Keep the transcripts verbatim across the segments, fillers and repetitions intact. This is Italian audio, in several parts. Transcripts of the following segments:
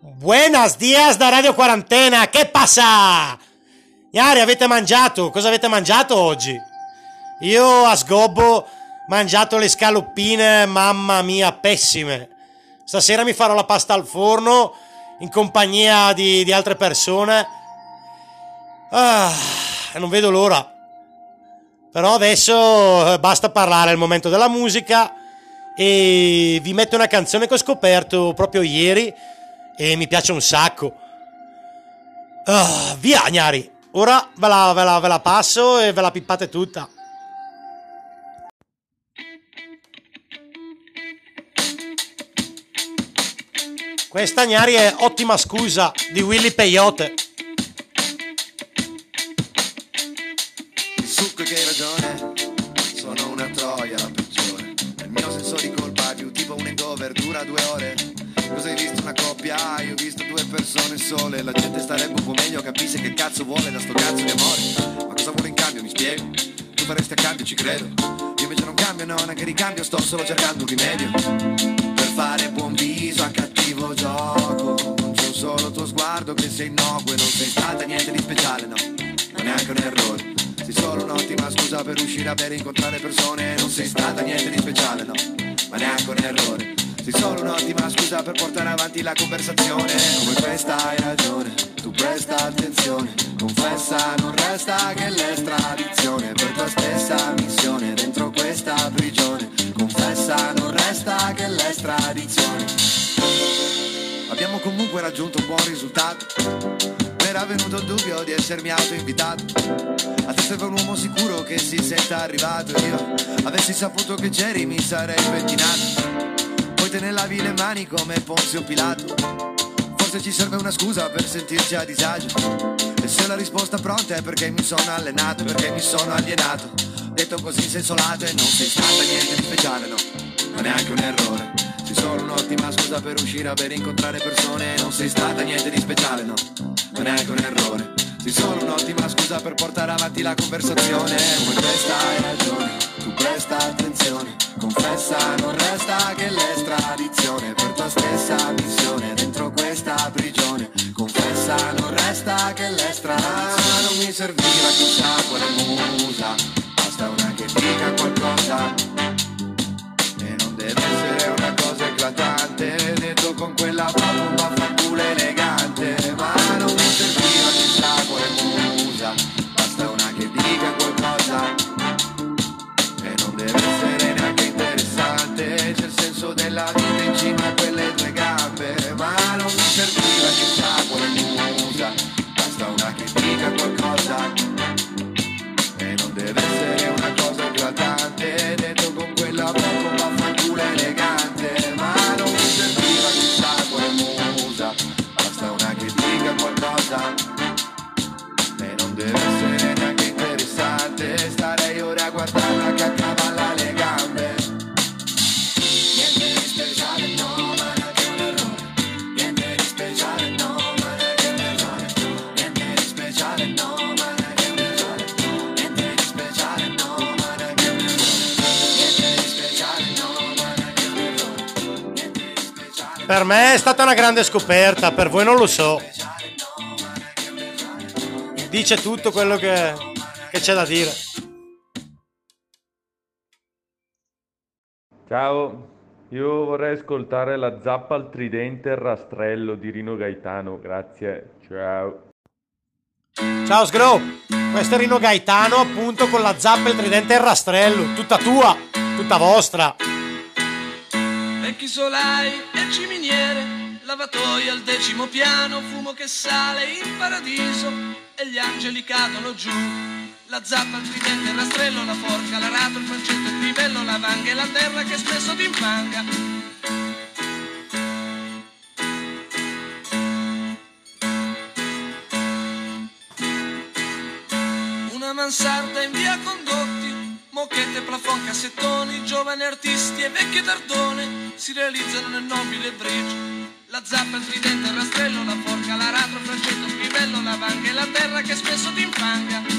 Buenos dias da Radio Quarantena, che passa? Iari, avete mangiato? Cosa avete mangiato oggi? Io a sgobbo ho mangiato le scaloppine, mamma mia, pessime. Stasera mi farò la pasta al forno in compagnia di, di altre persone. Ah, non vedo l'ora. Però adesso eh, basta parlare, è il momento della musica e vi metto una canzone che ho scoperto proprio ieri e mi piace un sacco. Ah, via, gnari. Ora ve la, ve, la, ve la passo e ve la pippate tutta. Questa, gnari, è Ottima scusa di Willy Peyote. Il succo che hai ragione, sono una troia la peggiore. Il mio senso di colpa più tipo un hangover dura due ore. Cosa hai visto una coppia? Io ho visto due persone sole. La gente starebbe un po' meglio, capisce che cazzo vuole da sto cazzo di amore. Ma cosa vuole in cambio, mi spiego? Tu faresti a cambio, ci credo. Io invece non cambio, no, neanche ricambio. Sto solo cercando un rimedio per fare buon viso a cattivo gioco. Non c'è un solo tuo sguardo che sei innocuo e non sei stata niente di speciale, no, ma neanche un errore. Sei solo un'ottima scusa per uscire a bere e incontrare persone. Non sei stata niente di speciale, no, ma neanche un errore. Sei solo un'ottima scusa per portare avanti la conversazione. Come questa hai ragione, tu presta attenzione. Confessa, non resta che l'estradizione per tua stessa missione dentro questa prigione. Confessa, non resta che l'estradizione. Abbiamo comunque raggiunto un buon risultato. Era venuto il dubbio di essermi autoinvitato. A te serve un uomo sicuro che si senta arrivato. Io avessi saputo che c'eri mi sarei pettinato. Poi te ne lavi le mani come Ponzio Pilato. Forse ci serve una scusa per sentirci a disagio. E se la risposta pronta è perché mi sono allenato, perché mi sono alienato. Detto così in senso lato e non sei stata niente di speciale, no, ma neanche un errore. Sei solo un'ottima scusa per uscire a bere e incontrare persone. Non sei stata niente di speciale, no, ma neanche un errore. Sei solo un'ottima scusa per portare avanti la conversazione. Come questa hai ragione, tu presta attenzione. Confessa, non resta che l'estradizione per tua stessa missione dentro questa prigione. Confessa, non resta che l'estradizione. Non mi serviva chissà quale musa, basta una che dica qualcosa. E non deve essere una cosa eclatante, detto con quella bomba fanculo elegante. Ma non mi serviva chissà quale musa, basta una che dica qualcosa. E non deve essere neanche interessante, c'è il senso della vita in cima a quelle tue gambe. Ma non mi serviva chissà quale musa, basta una che dica qualcosa. E non deve essere una cosa eclatante, detto con quella bomba fanculo elegante. Ma non mi serviva chissà quale musa, basta una che dica qualcosa. E non deve essere neanche interessante, starei ora a guardarla che accavalla le gambe. Niente di speciale, no, ma neanche un errore. Niente di speciale, no, ma neanche un errore. Niente di speciale, no, ma neanche un errore. Niente di speciale, no, ma neanche un errore. Niente di speciale, no, ma neanche un errore. Niente di speciale. Per me è stata una grande scoperta, per voi non lo so. Dice tutto quello che, che c'è da dire. Ciao, io vorrei ascoltare la zappa al tridente e il rastrello di Rino Gaetano, grazie, ciao. Ciao Sgro, questo è Rino Gaetano appunto con la zappa, il tridente e il rastrello. Tutta tua, tutta vostra. Vecchi solai e ciminiere, lavatoio al decimo piano, fumo che sale in paradiso e gli angeli cadono giù. La zappa, il tridente, il rastrello, la forca, l'arato, il fancetto, il crivello, la vanga e la terra che spesso ti infanga. Una mansarda in via Condotti, moquette, plafond, cassettoni, giovani artisti e vecchie tardone si realizzano nel nobile bridge. La zappa, il tridente, il rastrello, la forca, l'aratro, il fancetto, il crivello, la vanga e la terra che spesso ti infanga.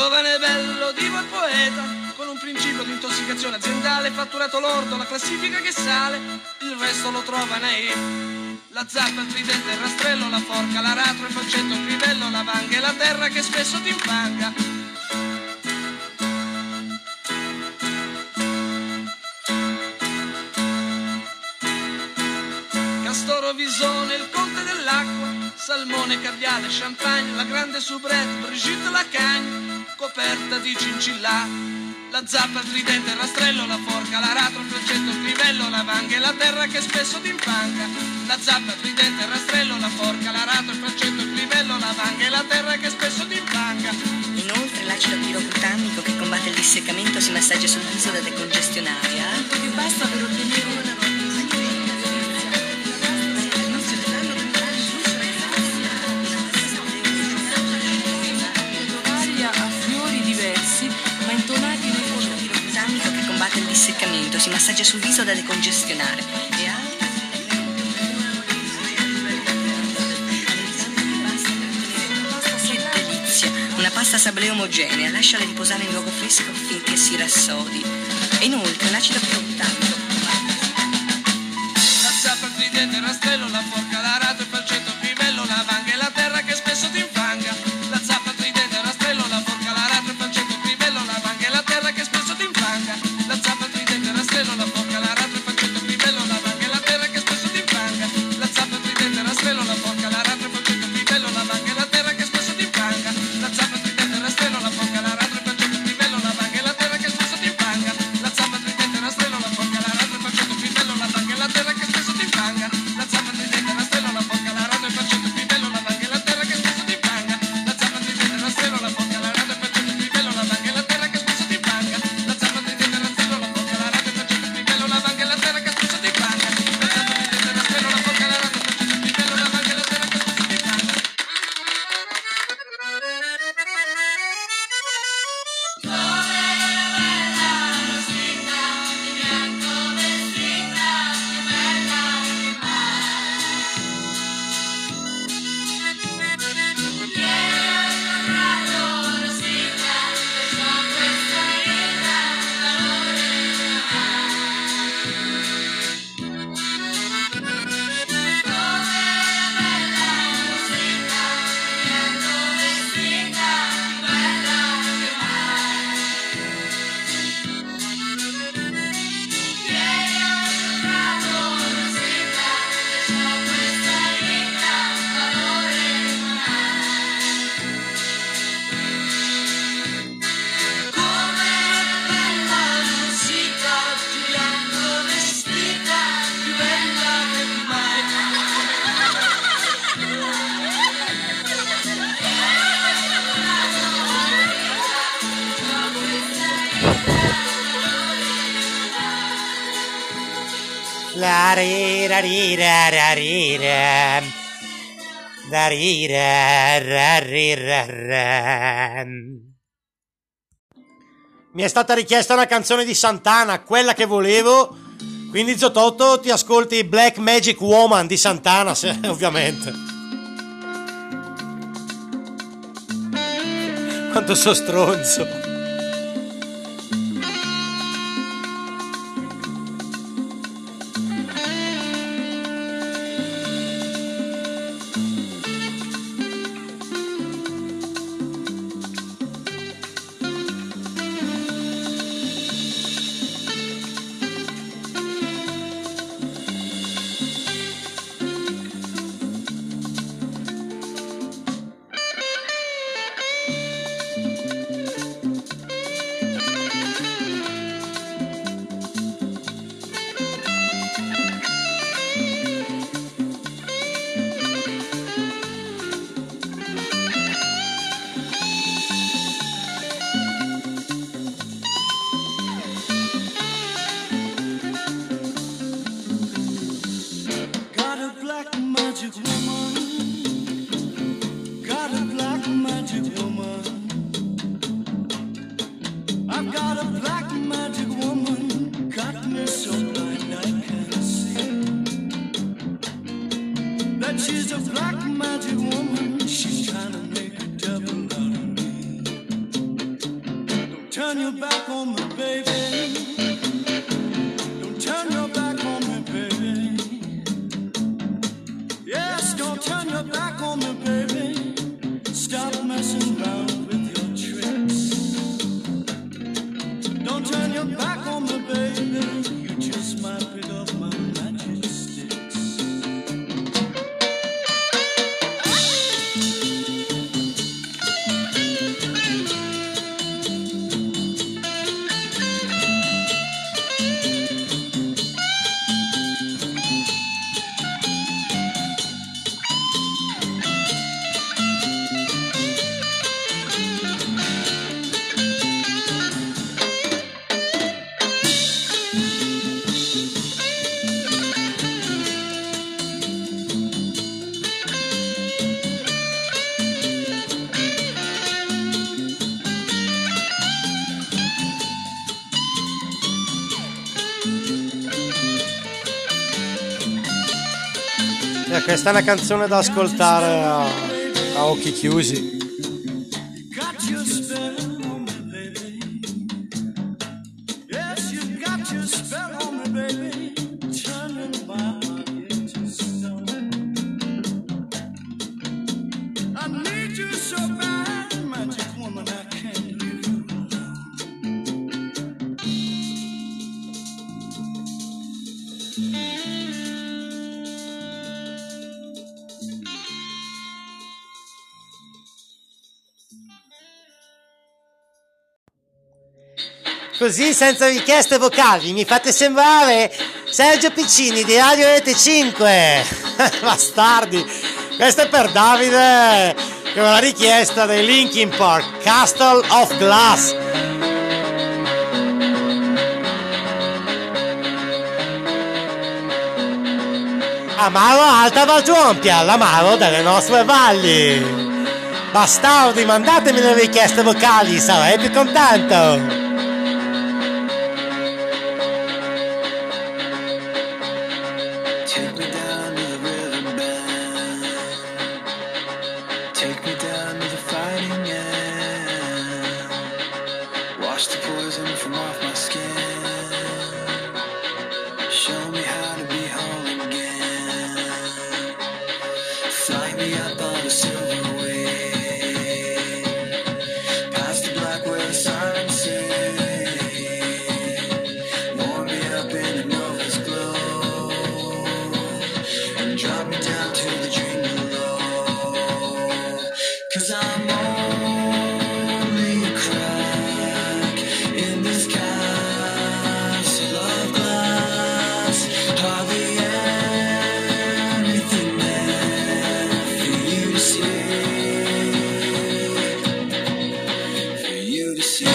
giovane, bello, divo e poeta, con un principio di intossicazione aziendale, fatturato lordo, la classifica che sale, il resto lo trova nei... La zappa, il tridente, il rastrello, la forca, l'aratro, il faccetto, il crivello, la vanga e la terra che spesso ti infanga. Castoro, Visone, il conte dell'acqua, salmone, caviale, champagne, la grande soubrette, Brigitte Lacagne, coperta di cincillà. La zappa, il tridente, il rastrello, la forca, l'aratro, il faccetto, il crivello, la vanga e la terra che spesso ti infanga. La zappa, il tridente, il rastrello, la forca, l'aratro, il faccetto, il crivello, la vanga e la terra che spesso ti infanga. Inoltre l'acido pirocutamico che combatte il disseccamento si massaggia sul viso da decongestionare. Altro più basta per ottenere una ma intonati nel fondo pirocutamico che combatte il disseccamento, si massaggia sul viso da decongestionare e altri. Che delizia! Una pasta sablé omogenea, lasciala riposare in luogo fresco finché si rassodi. E inoltre l'acido pirocutamico. La zappa, il tridente, il rastrello, la forca, l'aratro, il falcetto, il crivello, la vanga e la terra che spesso ti infanga. La zappa, il tridente, il rastrello, la forca, l'aratro, il falcetto, il crivello, la vanga e la terra che spesso ti infanga. La zappa, il tridente, il rastrello, la forca, l'aratro, il falcetto, il crivello, la vanga e la terra che spesso ti infanga. La zappa, il tridente, il rastrello, la forca, l'aratro, il falcetto, il crivello, la vanga e la terra che spesso ti infanga. La zappa, il tridente, il rastrello, la forca, l'aratro, il falcetto, il crivello, la vanga e la terra che spesso ti infanga. La zappa, il tridente, il rastrello, la forca, l'aratro, il falcetto, il crivello, la vanga e la terra che spesso ti infanga. La zappa, il tridente, il rastrello, la forca, l'aratro, il falcetto, il crivello, la vanga e la terra che spesso ti infanga. La zappa, il tridente, il rastrello, la forca, l'aratro, il falcetto, il crivello, la vanga e la terra che spesso ti infanga. La zappa, il tridente, il rastrello, la forca, l'aratro, il falcetto, il crivello, la vanga e la terra che spesso ti infanga. La zappa, il tridente, il rastrello, la forca, l'aratro, il falcetto, il crivello, la vanga e la terra che spesso ti infanga. La rira rira ra rira. La rira ra rira ra. Mi è stata richiesta una canzone di Santana, quella che volevo. Quindi Zototto, ti ascolti Black Magic Woman di Santana, se, ovviamente. Quanto so stronzo. Don't turn your back on me, baby. Don't turn your back on me, baby. Yes, don't turn your back on me, baby. Stop messing around with your tricks. Don't turn your back on me, baby. You just might pick up my magic sticks. Eh, questa è una canzone da ascoltare a, a occhi chiusi. Got your spell on me, baby. Yes, you got your spell on me, baby. Turning my heart into stone. I need you so bad, magic woman, I can't leave you alone. Così senza richieste vocali mi fate sembrare Sergio Piccini di Radio Rete cinque. Bastardi. Questo è per Davide che me l'ha richiesta dei Linkin Park, Castle of Glass. Amaro Alta Valgiompia, l'amaro delle nostre valli. Bastardi, mandatemi le richieste vocali, sarei più contento. Take me down to the riverbed. Take me down to the fighting end. Wash the poison from off my skin. Show me how to be whole again. Fly me up on the silver wing. Past the black where the sirens sing. Warm me up in the nova's glow. Drop me down to the dream below. 'Cause I'm only a crack in this castle of glass. Hardly anything there for you to see. For you to see.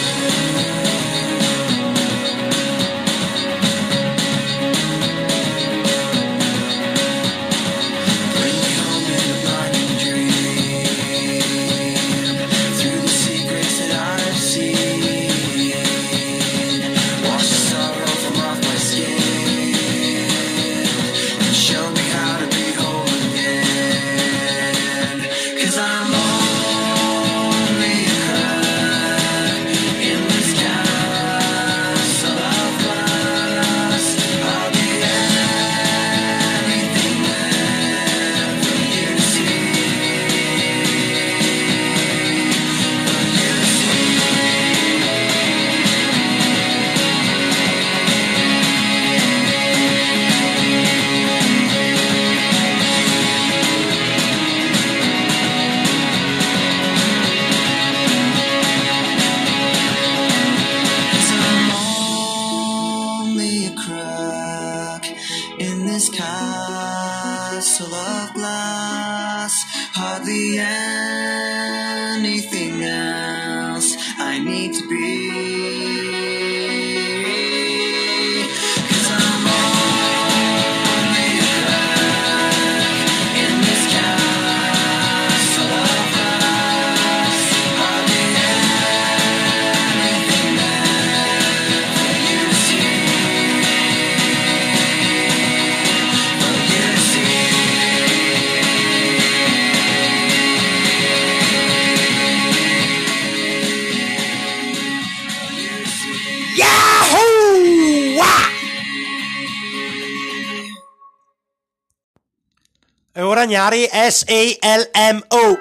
Castle of glass, hardly anything else I need to be. 'Cause I'm only a crack in this castle of glass, hardly anything there for you to see. For you to see. Allora Gnari, S A L M O.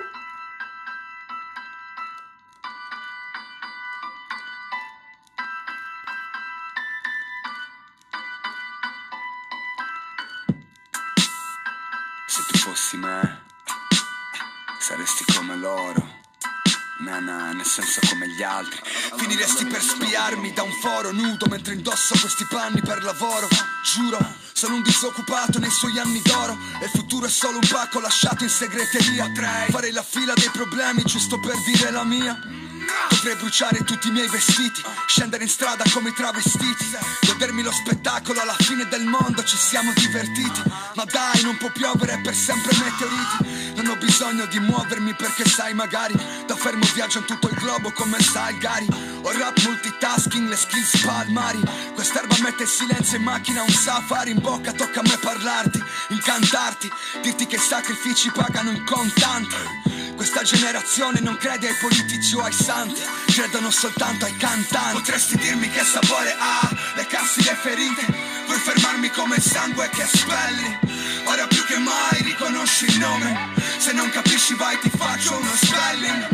Se tu fossi me, saresti come loro. Na na, nel senso come gli altri. Finiresti per spiarmi da un foro nudo mentre indosso questi panni per lavoro. Giuro, sono un disoccupato nei suoi anni d'oro e il futuro è solo un pacco lasciato in segreteria. Potrei fare la fila dei problemi giusto per dire la mia. Potrei bruciare tutti i miei vestiti, scendere in strada come i travestiti, godermi lo spettacolo, alla fine del mondo ci siamo divertiti. Ma dai, non può piovere per sempre meteoriti. Non ho bisogno di muovermi perché sai magari da fermo viaggio in tutto il globo come sai Gary. Ho rap multitasking, le skills palmari. Quest'erba mette il silenzio in macchina, un safari in bocca, tocca a me parlarti, incantarti, dirti che i sacrifici pagano in contanti. Questa generazione non crede ai politici o ai santi, credono soltanto ai cantanti. Potresti dirmi che sapore ha leccarsi le ferite, vuoi fermarmi come il sangue che spelli. Ora più che mai riconosci il nome, se non capisci vai ti faccio uno spelling.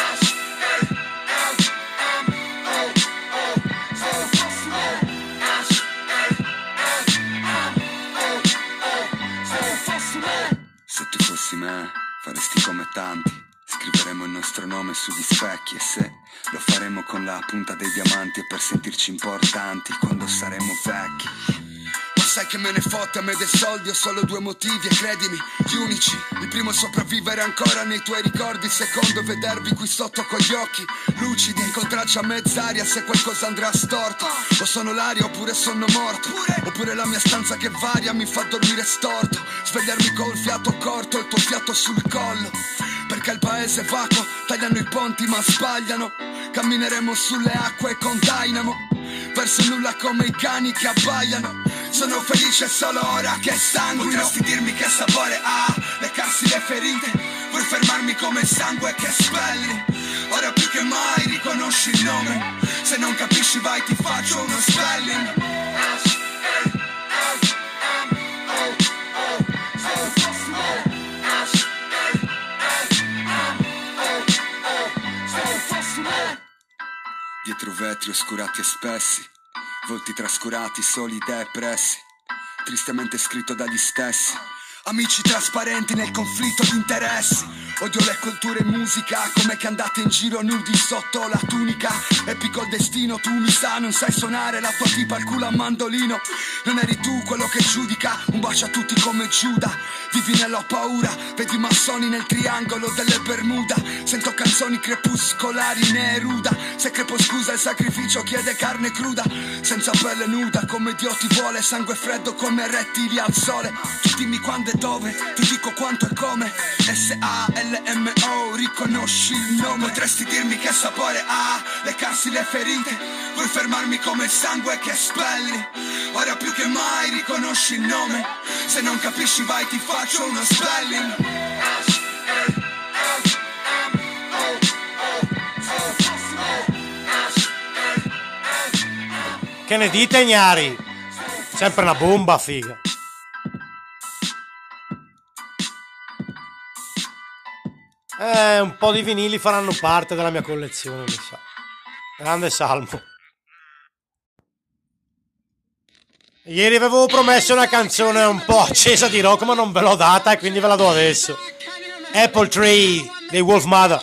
Se tu fossi me, faresti come tanti, scriveremo il nostro nome sugli specchi e se lo faremo con la punta dei diamanti e per sentirci importanti quando saremo vecchi. Ma sai che me ne fotte a me dei soldi, ho solo due motivi e credimi, gli unici. Il primo è sopravvivere ancora nei tuoi ricordi, il secondo è vedervi qui sotto con gli occhi lucidi, incontrarci a mezz'aria se qualcosa andrà storto. O sono l'aria oppure sono morto, oppure la mia stanza che varia mi fa dormire storto, svegliarmi col fiato corto e il tuo fiato sul collo. Perché il paese è vacuo, tagliano i ponti ma sbagliano. Cammineremo sulle acque con Dynamo, verso nulla come i cani che abbaiano. Sono felice solo ora che sanguino. Potresti dirmi che sapore ha leccarsi le ferite, vuoi fermarmi come il sangue che spelli. Ora più che mai riconosci il nome, se non capisci vai ti faccio uno spelling. Dietro vetri oscurati e spessi, volti trascurati, soli depressi, tristemente scritto dagli stessi. Amici trasparenti nel conflitto di interessi. Odio le culture e musica, come che andate in giro nudi sotto la tunica. Epico il destino, tu mi sa, non sai suonare la tua tipa al culo a mandolino. Non eri tu quello che giudica, un bacio a tutti come Giuda. Vivi nella paura, vedi massoni nel triangolo delle Bermuda. Sento canzoni crepuscolari, Neruda. Se crepo scusa il sacrificio chiede carne cruda, senza pelle nuda come Dio ti vuole, sangue freddo come rettili al sole. Tu dimmi quando e dove, ti dico quanto e come. S A L M O, riconosci il nome. Potresti dirmi che sapore ha leccarsi le ferite, vuoi fermarmi come il sangue che spelli. Ora più che mai riconosci il nome, se non capisci vai ti faccio uno spelling. Che ne dite Gnari? Sempre una bomba, figa. Eh, un po' di vinili faranno parte della mia collezione, mi sa. Grande Salmo. Ieri avevo promesso una canzone un po' accesa di rock, ma non ve l'ho data e quindi ve la do adesso. Apple Tree dei Wolf Mother.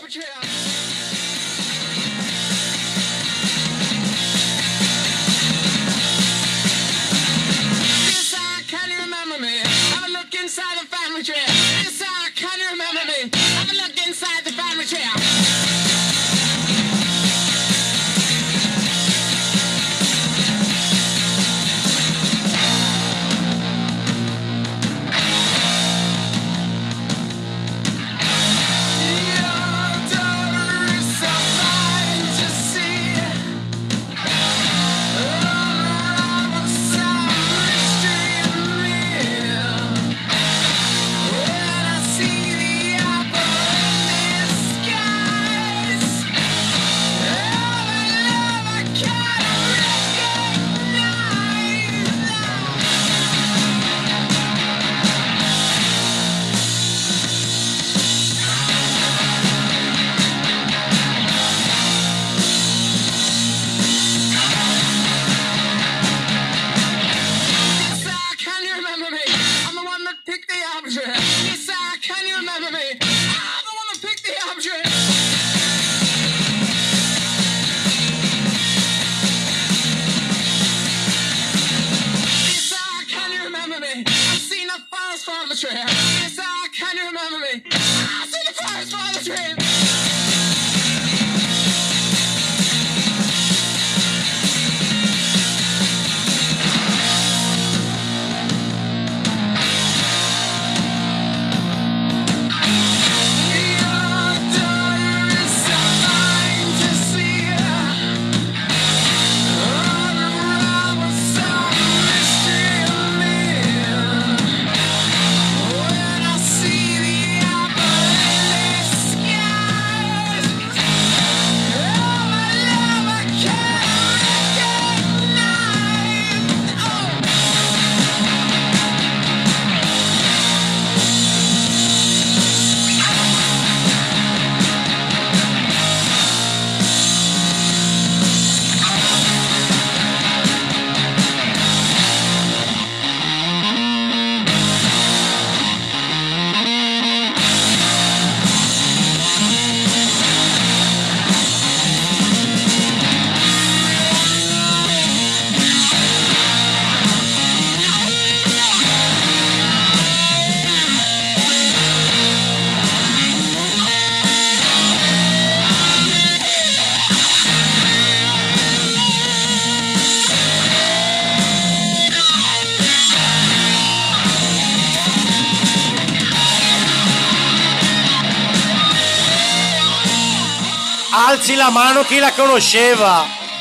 Your Alzi la mano chi la conosceva.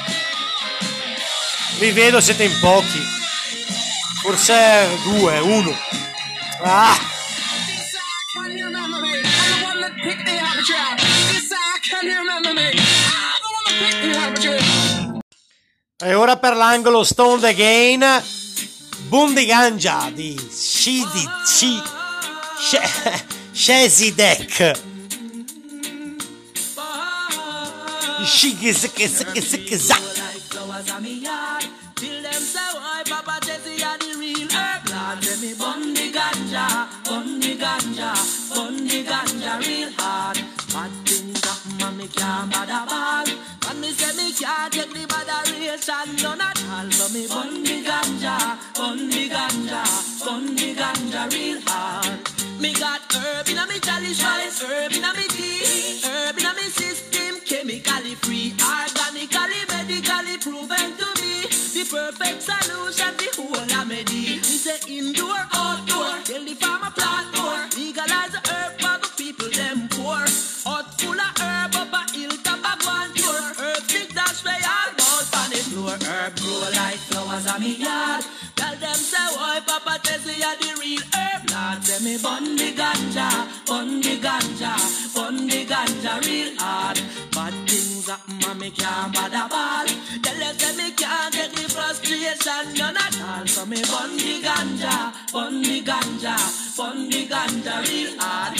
Vi vedo, siete in pochi. Forse due, uno. Ah. E ora per l'angolo Stone Again, Bundiganja di Shidi Shi Shezidek. Shigizikizikizikizak. Till them say why Papa Jesse are the real herb lord. Let me bun the ganja, bun the ganja, bun the ganja real hard. Bad things happen and me can't bother ball. And me say me can't take the botheration none at all. So me bun the ganja, bun the ganja, bun the ganja real hard. Me got herb in a me chalice rice, herb in a me tea, herb in a me system, chemically free, organically, medically proven to be the perfect solution, the whole remedy. We say indoor, outdoor, tell the farmer plant more. Legalize the herb for the people them poor. Hot full of herb up a hill top of one tour. Herb stick dash way all out on the floor. Herb grow like flowers on me yard. Tell them say why Papa Tessie are the real herb lord. Say me bun the ganja, bun the ganja, bun the ganja real hard. Bad things happen and me can't bother ball. Tell them say me can't take the frustration none at all. So me bun the ganja, bun the ganja, bun the ganja real hard.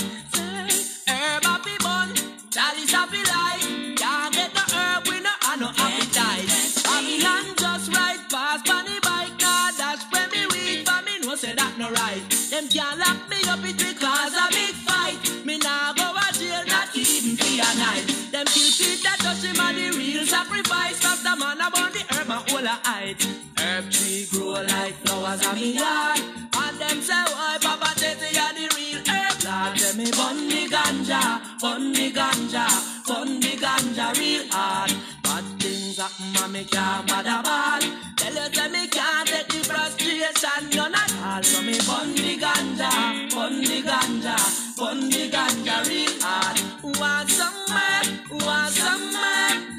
Say herb happy bun, chalice happy life. Can't get the herb we no have no appetite. Babylon just right past on the bike. Nah dash when me weed for me no say that no right. Them can't lock me up it because a big fight. Me nah go a jail not even for a night. Them kill Peter touch him and the real sacrifice. Cause the man about the herb and all a height. Herb tree grow like flowers on me yard. And them say why Papa Tessie are the real herb lord. Tell me bun the ganja, bun the ganja, bun the ganja real hard. Bad things happen and me can't bother ball. Tell you say me can't take the frustration none at all. So me bun the ganja, bun the ganja, bun the ganja real hard. Want some man, want some man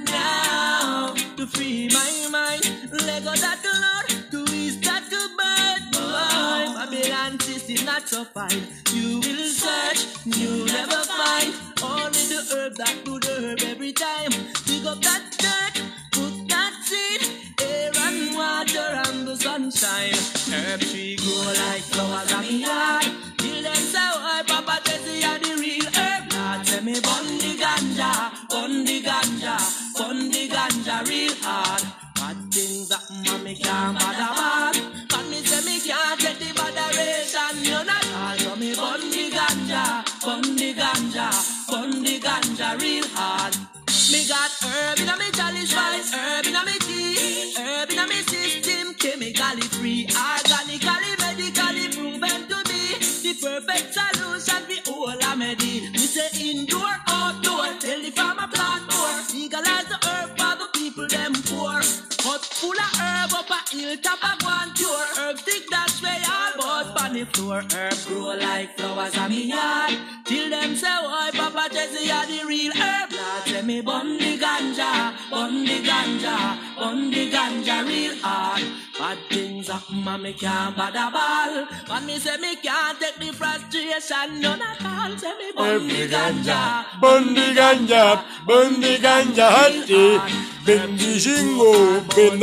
now to free my mind. Let go that Lord to ease that to bad boy. Babylon system not so fine. You will search, you never find. Only the herb that good herb every time. Dig up that dirt, put that seed, air and water and the sunshine. Herb tree grow like flowers on me yard. Till them say why Papa Tessie are the real herb lord. Say me bun the ganja, bun the ganja, bun the ganja real hard. Bad things happen and me can't bother ball. And me say me can't take the botheration none at all. So me bun the ganja, bun the ganja, bun the ganja real hard. Me got herb in a me chalice rice, herb in a me tea, herb in a me system, chemically free, organically, medically proven to be the perfect solution, the whole remedy. Me say indoor, outdoor, tell the farmer plant more. Legalize the herb for the people them poor. Hot full of herb up a hill top of one tour. Herb stick that's way all about on the floor. Herb grow like flowers on me yard. Till them say why Papa Tessie are the real herb lord. Say me bun the ganja, bun the ganja, bun the ganja real hard. Bad things happen and me can't bother ball. And me say me can't take the frustration none at all. Say me bun the ganja, bun the ganja, bun the ganja hati. Bendi jingo,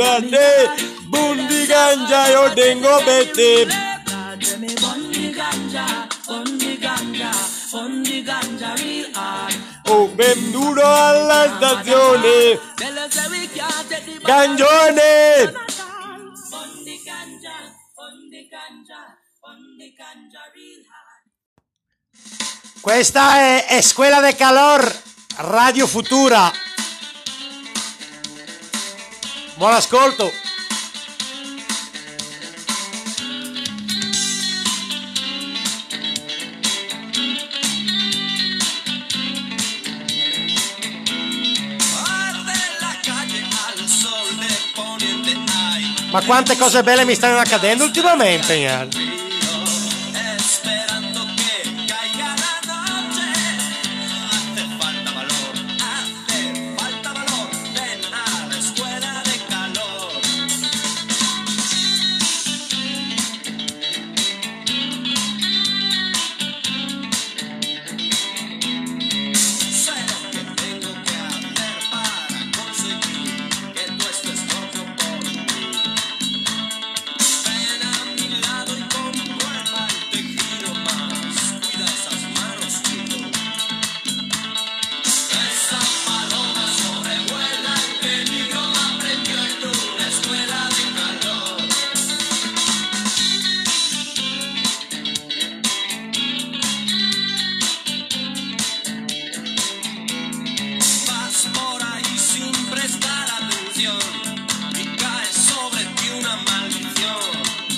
bendade, bun the ganja yo dengo bete. Say me bun the ganja, bun the ganja, bun the ganja real hard. Oh, bendudo alla stazione, Gangione. Questa è Escuela de Calor, Radio Futura. Buon ascolto. Ma quante cose belle mi stanno accadendo ultimamente, Ian. canción y cae sobre ti una maldición.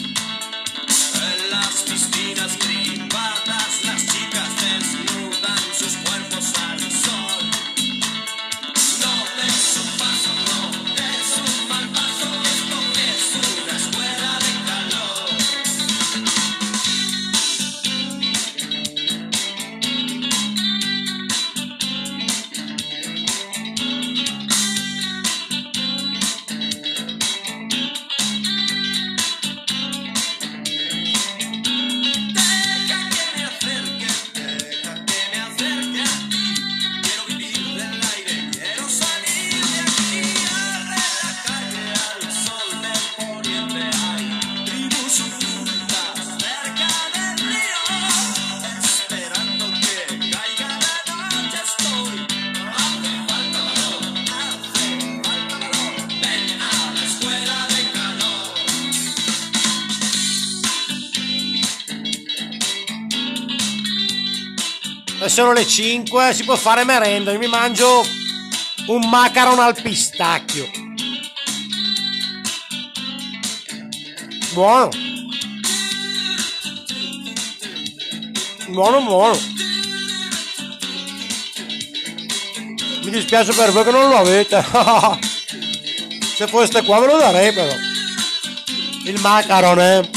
En las piscinas privadas las chicas desnudan sus cuerpos al sol. No des un paso, no des un mal paso, esto es una escuela de calor. Sono le cinque, si può fare merenda. Io mi mangio un macaron al pistacchio. Buono. Buono, buono. Mi dispiace per voi che non lo avete. Se foste qua ve lo darei però. Il macaron, eh.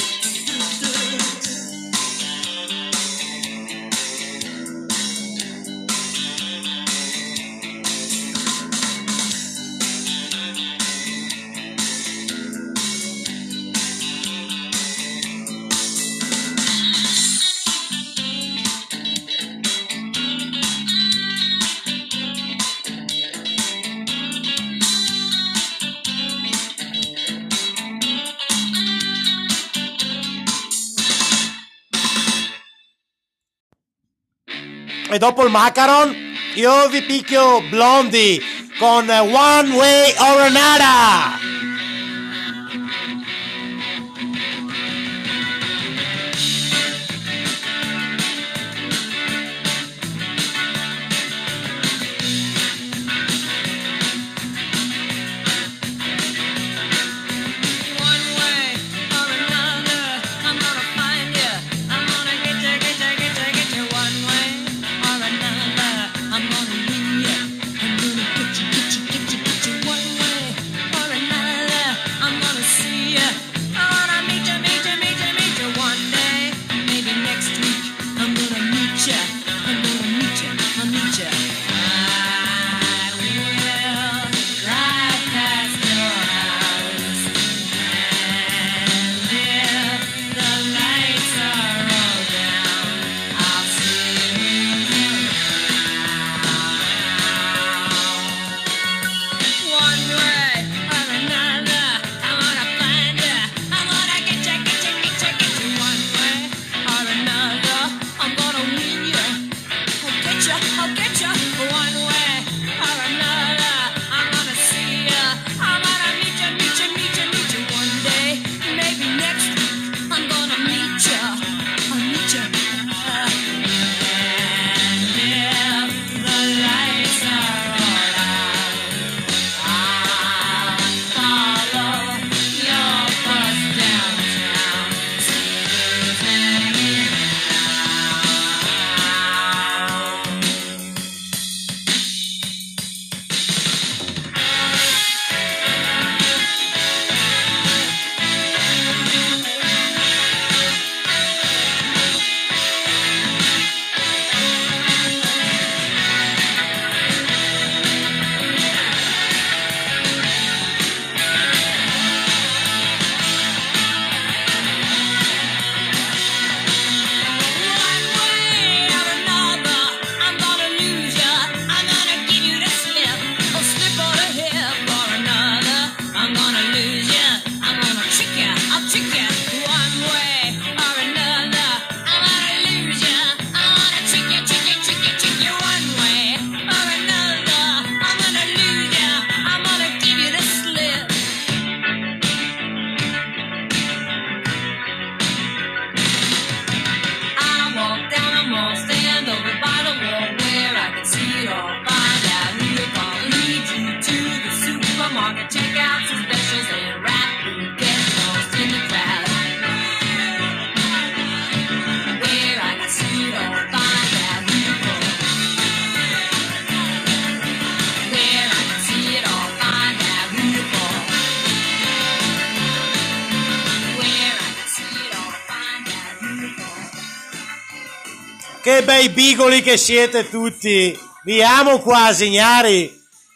E dopo il macaron io vi picchio Blondie con One Way or Another. I'm gonna win ya. I'm gonna get you, get you, get you, get you one way or another. check out some specials and rap and get lost in the crowd. Where I can see it all, find out who you're for. Where I can see it all, find out who you're for. Where I can see it all, find out who you're for. Che bei bigoli che siete tutti! Vi amo qua, signori!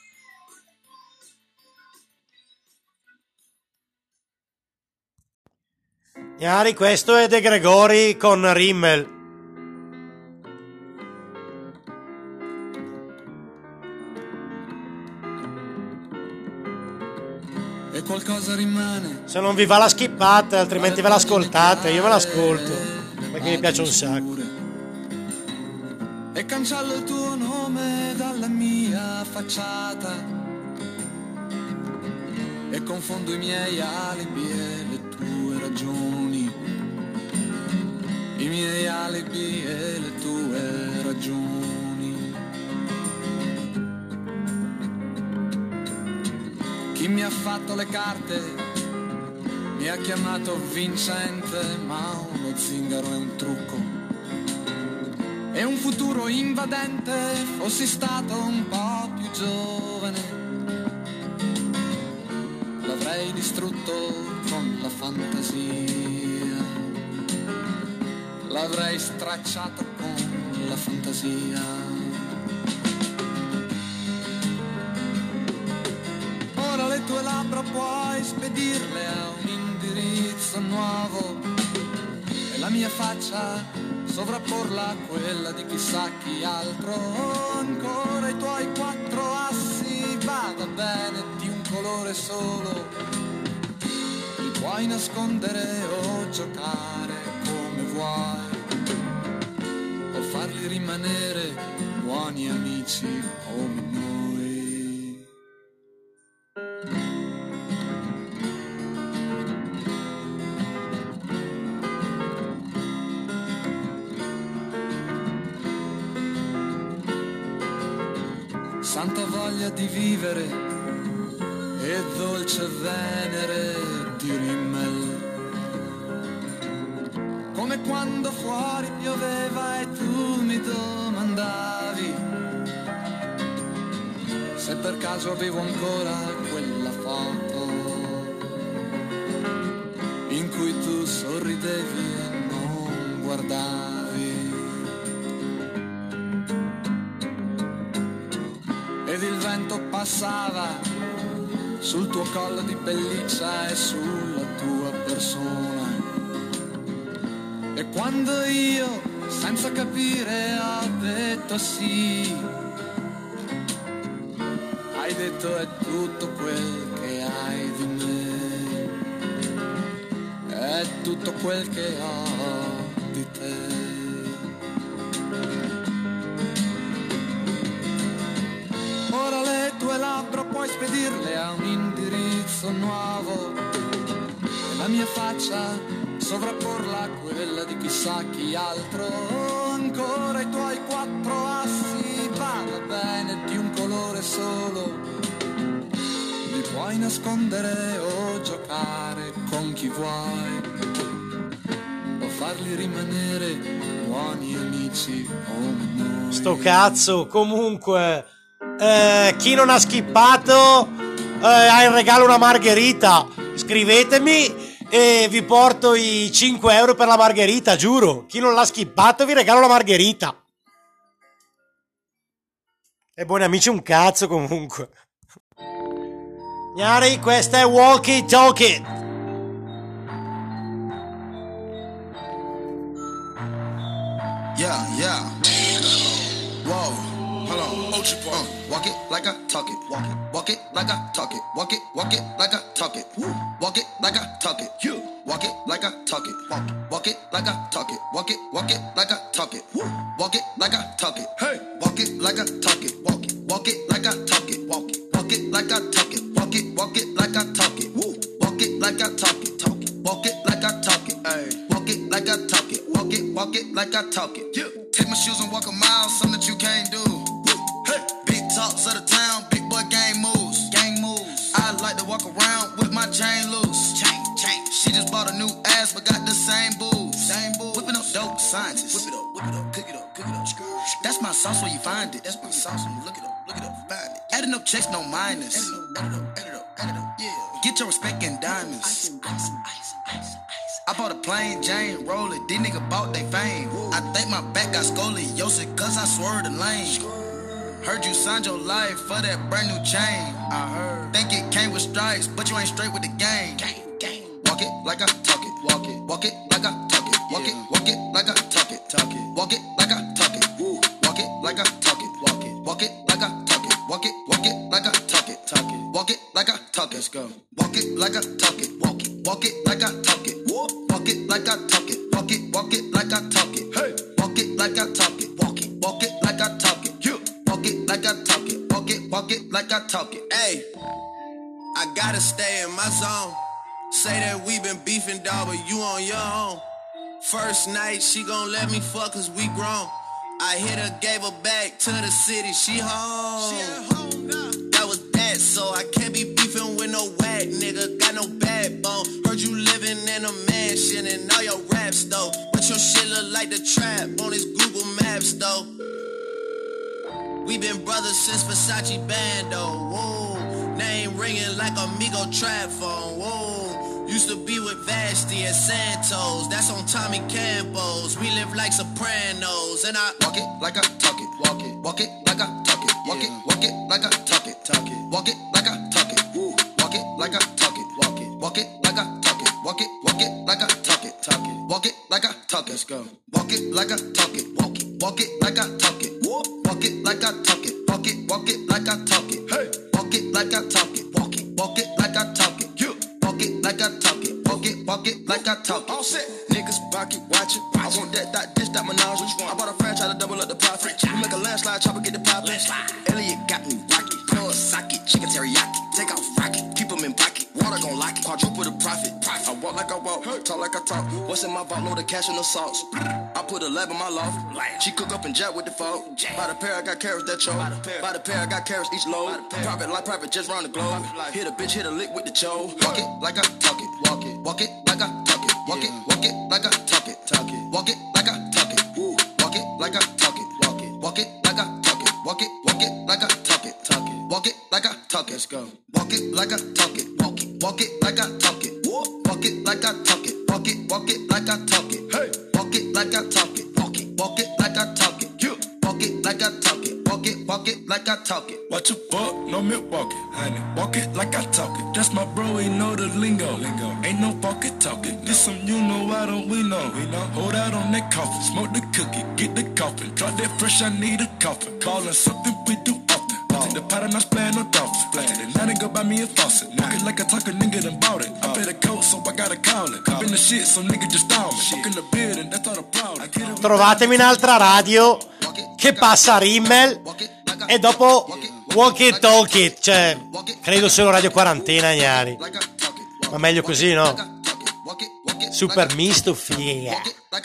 Signori, questo è De Gregori con Rimmel. E qualcosa rimane. Se non vi va la skippate, altrimenti ve l'ascoltate. Io me l'ascolto, perché mi piace un sacco. E cancello il tuo nome dalla mia facciata e confondo i miei alibi e le tue ragioni, i miei alibi e le tue ragioni. Chi mi ha fatto le carte mi ha chiamato vincente, ma uno zingaro è un trucco. E un futuro invadente, fossi stato un po' più giovane, l'avrei distrutto con la fantasia, l'avrei stracciato con la fantasia. Ora le tue labbra puoi spedirle a un indirizzo nuovo e la mia faccia sovrapporla a quella di chissà chi altro. Ancora i tuoi quattro assi, vada bene, di un colore solo, li puoi nascondere o giocare come vuoi, o farli rimanere buoni amici come noi. Santa voglia di vivere e dolce venere di Rimmel, come quando fuori pioveva e tu mi domandavi se per caso avevo ancora quella foto in cui tu sorridevi e non guardavi. Ed il vento passava sul tuo collo di pelliccia e sulla tua persona. E quando io, senza capire, ho detto sì, hai detto è tutto quel che hai di me, è tutto quel che ho di te. Ora le tue labbra puoi spedirle a un indirizzo nuovo e la mia faccia sovrapporla a quella di chissà chi altro. Ancora i tuoi quattro assi, vada bene, di un colore solo, li puoi nascondere o giocare con chi vuoi, o farli rimanere buoni amici come noi. Sto cazzo, comunque... Eh, chi non ha skippato eh, ha in regalo una margherita. Scrivetemi e vi porto i cinque euro per la margherita, giuro. Chi non l'ha skippato vi regalo la margherita. E buoni amici un cazzo comunque. Gnari, questa è Walkie Talkie. Yeah, yeah. Whoa. Hold on, uh, walk it like I talk it. Walk it, walk it like I talk it. Walk it, walk it like I talk it. Woo. Walk it like I talk it. You walk it like I talk it. Walk it, walk it like I talk it. Walk it, walk it like I talk it. Woo. Walk it like I talk it. Hey, walk it like I talk it. Walk it, walk it like I talk it. Walk it, walk it like I talk it. Walk it, walk it like I talk it. Woo. Walk it like I talk it. Talk it, walk it like I talk it. Hey, walk it like I talk it. Walk it, walk it like I talk it. Yeah. Take my shoes and walk a mile, something that you can't do. Hey. Big talks of the town, big boy gang moves. Gang moves. I like to walk walk around with my chain loose. Chain, chain. She just bought a new ass, but got the same boobs. Same boobs. Whipping up dope scientists. Whip it up, whip it up, cook it up, cook it up. That's my sauce where you find it. That's my sauce when you look it up, look it up, find it. Adding up checks, no minus. Add it up, add it up, add it up, add it up, yeah. Get your respect in diamonds. Ice, ice, ice, ice, ice. I bought a plain Jane, roll it. These niggas bought they fame. I think my back got scoliosis, cause I swerved the lane. Heard you signed your life for that brand new chain. I heard. Think it came with stripes, but you ain't straight with the game. Walk it like I talk it. Walk it. Walk it like I talk it. Walk it. Walk it like I talk it. Talk it. Walk it like I talk it. Walk it like I talk it. Walk it. Walk it like I talk it. Walk it. Walk it like I talk it. Talk it. Walk it like I talk it. Let's go. Walk it like I talk it. Walk it. Walk it like I talk it. Walk it like I talk it. Walk it. Walk it like I talk it. Hey. Walk it like I talk it. Walk it. Walk it like I talk it. You. Walk it like I talk it. Walk it. Walk it like I talk it. Hey. I gotta stay in my zone. Say that we been beefing, dog, but you on your own. First night, she gon' let me fuck cause we grown. I hit her, gave her back to the city, she home. She at home now. That was that, so I can't be beefing with no whack nigga. Got no backbone. Heard you living in a mansion and all your raps though. But your shit look like the trap on his Google Maps though. We been brothers since Versace Bando. Whoa. Name ringing like Amigo trap phone. Whoa. Used to be with Vashti and Santos. That's on Tommy Campos. We live like Sopranos. And I walk it like I talk it. Walk it. Walk it like I talk it. Walk it. Walk it like I talk it. Talk it. Walk it like I talk it. Walk it like I talk it. Walk it. Walk it like I talk it. Walk it. Walk it like I talk it. Talk it. Walk it like I talk it. Let's go. Walk it like I talk it. Walk it. Walk it like I talk it. Walk it like I talk it. Walk it. Walk it like I talk it. Hey. Walk it like I talk it. Walk it. Walk it like I talk it. You. Walk it like I talk it. Walk it. Walk it like I talk it. All set. Niggas pocket watch it. I want that, that, this, that menage. I bought a franchise to double up the profit. We make a landslide, chopper get the poppin'. Elliot got me rocket. Pour a socket. Chicken teriyaki. Take off rocket. Keep them in pocket. Water gon' lock it. Quadruple the profit. I walk like I walk. Talk like I talk. What's in my vault? Load of cash and the sauce. I put a lab in my loft. She cook up and jet with the folk. By the pair, I got carrots that choke. By the pair, I got carrots each load. Private like private, just round the globe. Hit a bitch, hit a lick with the cho. Walk it like I talk it. Walk it. Walk it like I talk it. Walk it. Walk it like I talk it. Talk it. Walk it like I talk it. Walk it like I talk it. Walk it. Walk it like I talk it. Walk it. Walk it like I talk it. Talk it. Walk it like I talk it. Let's go. Walk it like I talk it. Walk it. Walk it like I talk it. Walk it like I talk it. Walk it. Walk it like I talk it. Hey. Walk it like I talk it. Walk it. Walk it like I talk it. You. Walk it like I talk it. Walk it. Walk it like I talk it. Watch your fuck, no milk walking, honey. Walk it like I talk it. That's my bro, he know the lingo. lingo. Ain't no fucking talking. This some you know, why don't we know? We know. Hold out on that coffin, smoke the cookie, get the coffin. Drop that fresh, I need a coffin. Callin' something we do often. Take the pot and I splash no dolphin. And now they go buy me a faucet. Walk it like I talk a nigga done bought it. I pay the coat, so I gotta call it. I've been the shit, so nigga just stall me. Fuck in the bed and that's all the problem. Trovatemi un'altra radio che passa Rimmel e dopo Walk It Talk It, cioè credo solo Radio Quarantena, ignari. Ma meglio così, no? Super misto, figa.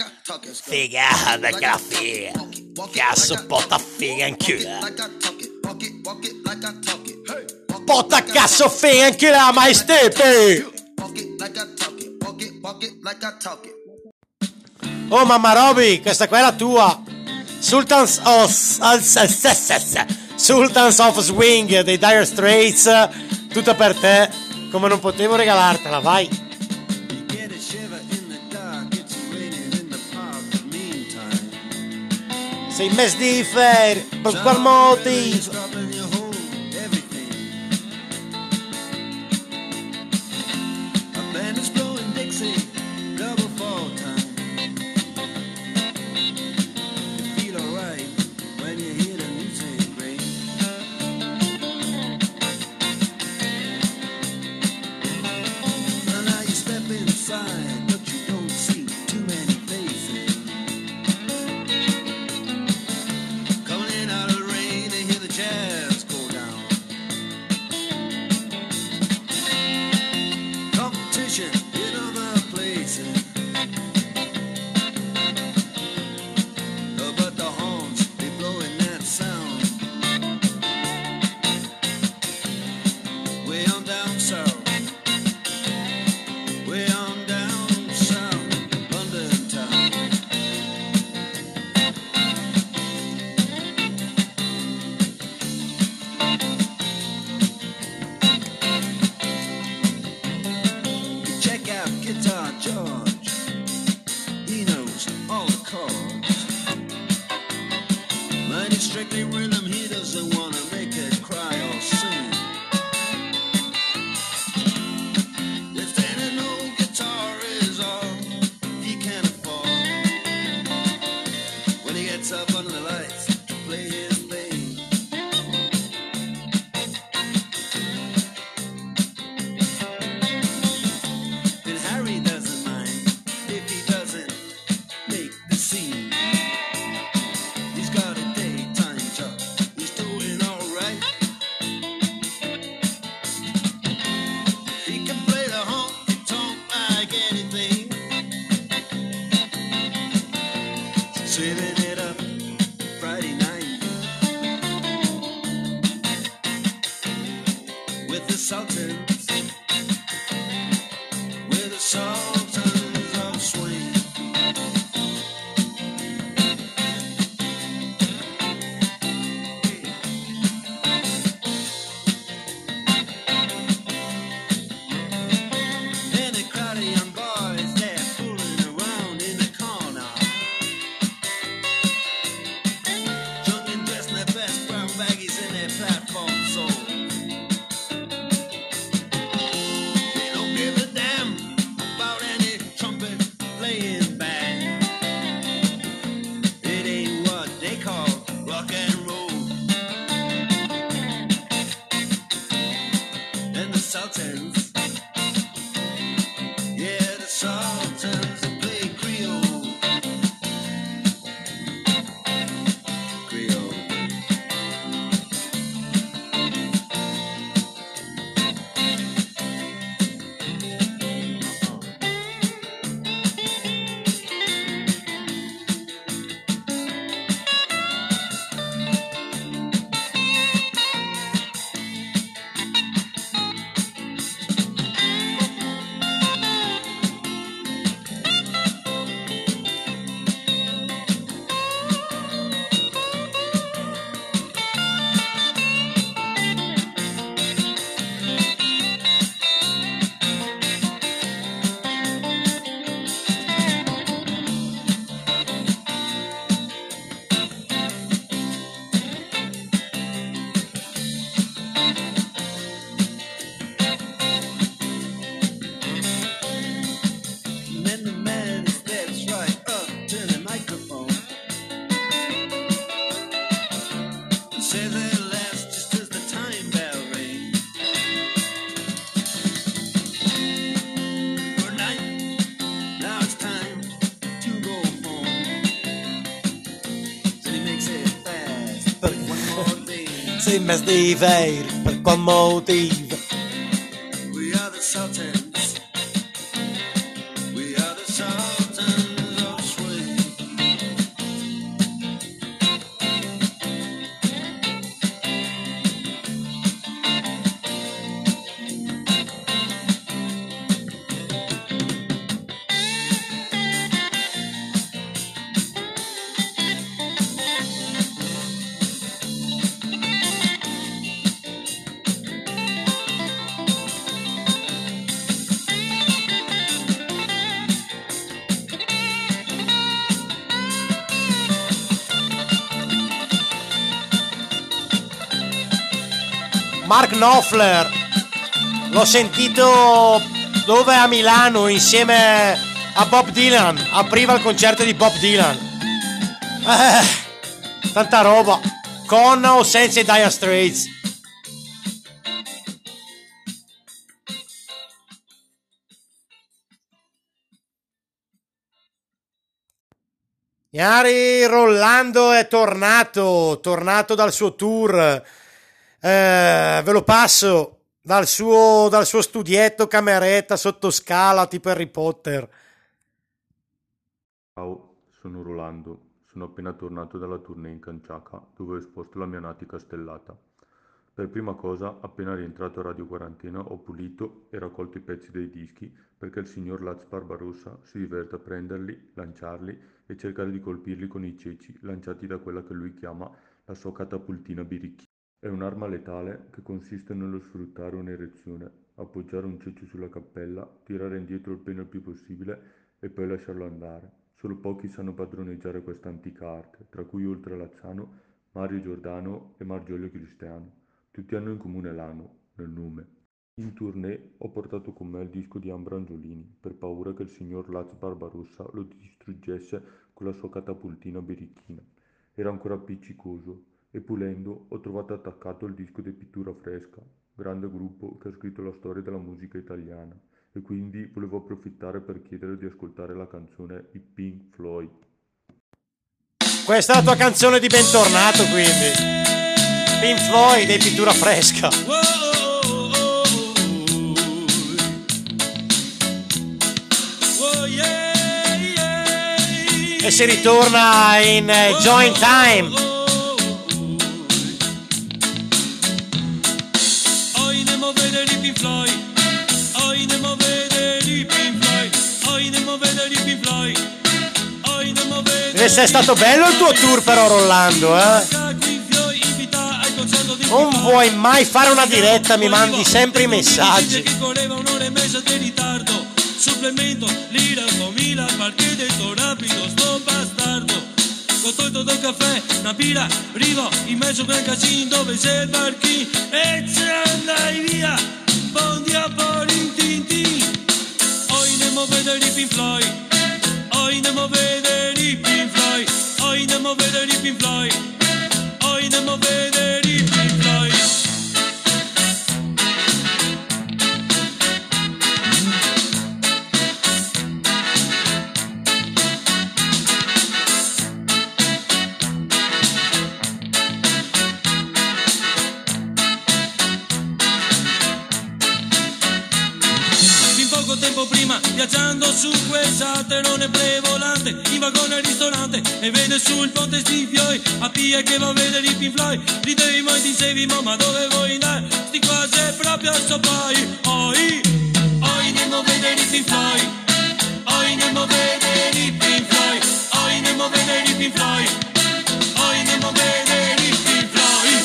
Figa, da caffè. Cazzo, potta figa in culo. Potta cazzo figa in culo, mai steppe. Oh mamma Roby, questa qua è la tua. Sultans of Sultans of Swing dei Dire Straits, tutta per te, come non potevo regalartela, vai. Sei mes di ferie, per qual motivo? Coming in out of the rain and hear the jazz. sultans of swing. And a crowd of young boys, they're fooling around in the corner. Drunk and dressed in their best brown baggies in their platform soul. They don't give a damn about any trumpet playing band. It ain't what they call rock and roll. And the Sultans, yeah, the Sultans play Creole. Creole. And then the man steps right up to the microphone. Say their last just as the time bell rings. Good night, now it's time to go home. Then he makes it fast, but one more thing. Sei mezzo di veri, per qual motivo? We are the Sultans. We are the Sultans of swing. Mark Knopfler, l'ho sentito dove a Milano insieme a Bob Dylan, apriva il concerto di Bob Dylan. Eh, tanta roba, con o senza i Dire Straits. Iari Rolando è tornato, tornato dal suo tour. Eh, ve lo passo dal suo, dal suo studietto, cameretta sotto scala tipo Harry Potter. Ciao, sono Rolando. Sono appena tornato dalla tournée in Canciaca, dove ho esposto la mia natica stellata. Per prima cosa, appena rientrato a Radio Quarantena, ho pulito e raccolto i pezzi dei dischi, perché il signor Laz Barbarossa si diverte a prenderli, lanciarli e cercare di colpirli con i ceci lanciati da quella che lui chiama la sua catapultina birichina. È un'arma letale che consiste nello sfruttare un'erezione, appoggiare un ceccio sulla cappella, tirare indietro il pene il più possibile e poi lasciarlo andare. Solo pochi sanno padroneggiare questa antica arte, tra cui oltre a Lazzano, Mario Giordano e Margiolio Cristiano. Tutti hanno in comune l'ano, nel nome. In tournée ho portato con me il disco di Ambra Angiolini, per paura che il signor Laz Barbarossa lo distruggesse con la sua catapultina birichina. Era ancora appiccicoso, e pulendo ho trovato attaccato il disco di Pittura Fresca, grande gruppo che ha scritto la storia della musica italiana, e quindi volevo approfittare per chiedere di ascoltare la canzone I Pink Floyd. Questa è la tua canzone di bentornato, quindi Pink Floyd dei Pittura Fresca. E si ritorna in eh, Joint Time. Oi, andiamo a vedere i Pink Floyd. Oi, andiamo a vedere i Pink Floyd. Deve essere stato bello il tuo tour però, Rollando, eh? Non vuoi mai fare una diretta, mi mandi sempre i messaggi. Supplemento, lira, comida, perché detto rapido, sto bastardo. Con tutto del caffè, una birra, arrivo in mezzo a un casino dove c'è il barchino. E ce andai via, bondi a Borin Tintin. Oggi andiamo a vedere i Pink Floyd. Oggi andiamo a vedere i Pink Floyd. Oggi andiamo a vedere i Pink Floyd. Oggi andiamo a vedere i Pink Floyd. Tempo prima, viaggiando su questa terrone prevolante, in vagone al ristorante, e vede sul ponte sti fioi, a Pia che va a vedere i Pink Floyd, ridevi mai dicevi, ma dove vuoi andare, sti qua c'è proprio a soppai, oi, oi andiamo a vedere i Pink Floyd, oi andiamo a vedere i Pink Floyd, oi andiamo a vedere i Pink Floyd, oi andiamo a vedere i Pink Floyd.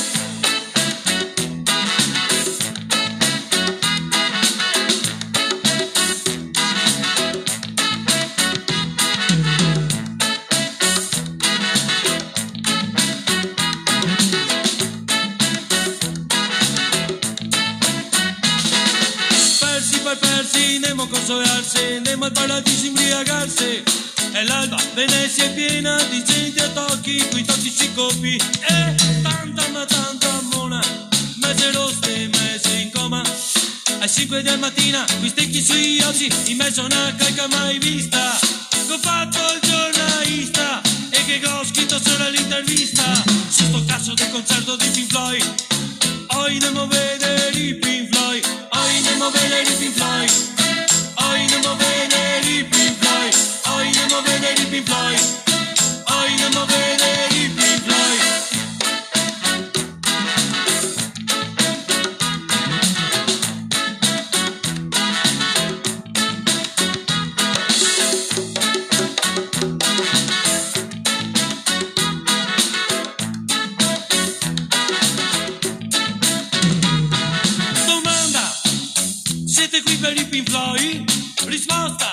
Persi, andiamo a consolarsi, andiamo al paradiso imbriagarsi. E l'alba, Venezia è piena di gente a tocchi, quei tossici copi. E tanta ma tanta mona, mese rosse, mese in coma. Alle cinque del mattina, qui stecchi sui occhi, in mezzo a una calca mai vista. Ho fatto il giornalista, e che ho scritto solo l'intervista. Su sto cazzo del concerto di Pink Floyd. Oggi andiamo a vedere i Pink Floyd. Oggi andiamo a vedere i Pink Floyd. Oggi andiamo a vedere i Pink Floyd. Oggi andiamo a vedere i Pink Floyd. Oggi andiamo a vedere i Pink Floyd. Siete qui per i Pink Floyd? Risposta!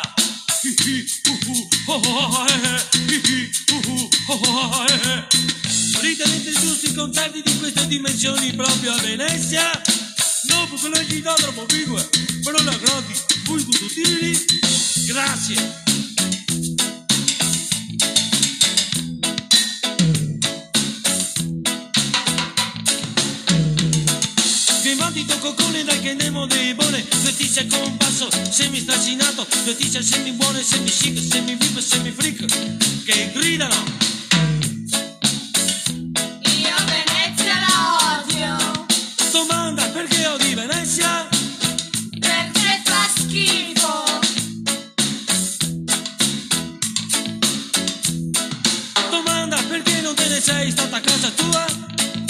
Ritenete giusti i concerti di queste dimensioni proprio a Venezia? No, perché le città troppo piccole, però la gratis, voi tutti. Grazie! Bandito coccone dai che andiamo dei buone, due tice con basso, semi stracinato, due tice semi buone, semi chic, semi vip, semi freak, che gridano. Io Venezia la odio. Domanda perché odi Venezia? Perché fa schifo. Domanda perché non te ne sei stata a casa tua?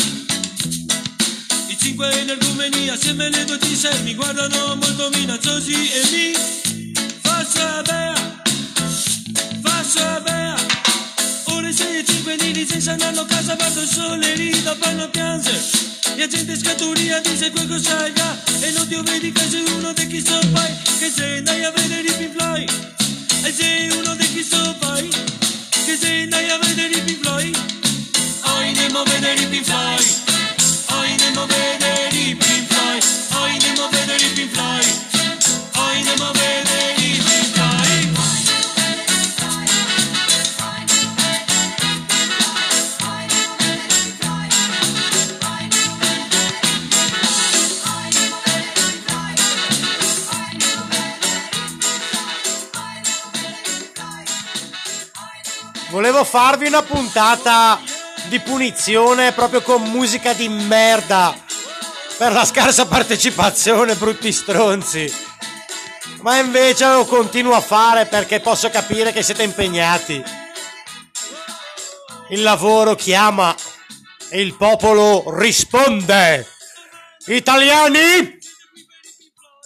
Cinque energumeni assieme alle due tise mi guardano molto minacciosi e mi fa sapere, fa sapere. Ore sei e cinque di licenza andando a casa, guardo il sole, rido, fanno piangere. La gente scaturia dice qualcosa già e non ti vedi che sei uno dei chi so fai, che se andai a vedere i Pink Floyd. E sei uno dei chi so fai, che se andai a vedere i Pink Floyd. Oggi andiamo a vedere i Pink Floyd. Oggi andiamo a vedere i Pink Floyd. Oggi andiamo a vedere i Pink Floyd. Oggi andiamo a vedere i Pink Floyd. Volevo farvi una puntata di punizione proprio con musica di merda per la scarsa partecipazione, brutti stronzi, ma invece lo continuo a fare perché posso capire che siete impegnati. Il lavoro chiama e il popolo risponde. Italiani?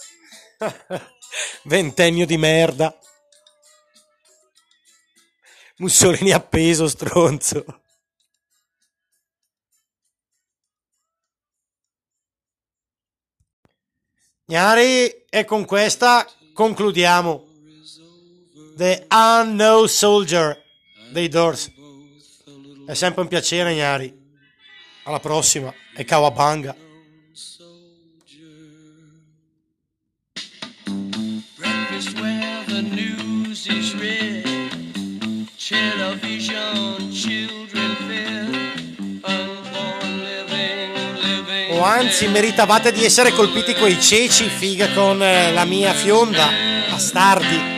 Ventennio di merda. Mussolini appeso, stronzo. Gnari, e con questa concludiamo. The Unknown Soldier dei Doors. È sempre un piacere, Gnari. Alla prossima. E Kawabanga. Breakfast where the news is read, television, children fed, unborn living, living. O anzi, meritavate di essere colpiti coi ceci, figa, con eh, la mia fionda. Bastardi.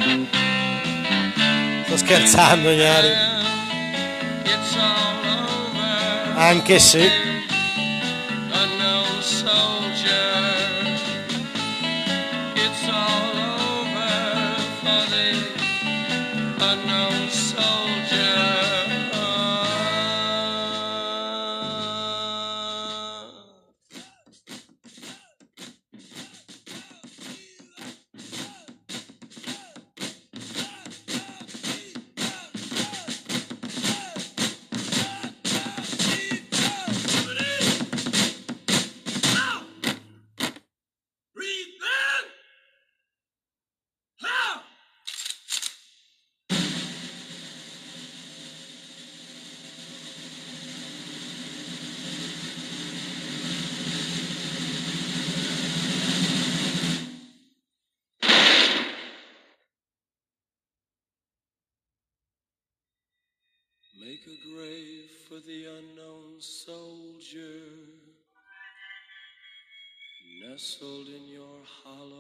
Sto scherzando, Gnari. It's all over. Anche se. Unknown soldier. It's all over for the unknown soldier. Make a grave for the unknown soldier, nestled in your hollow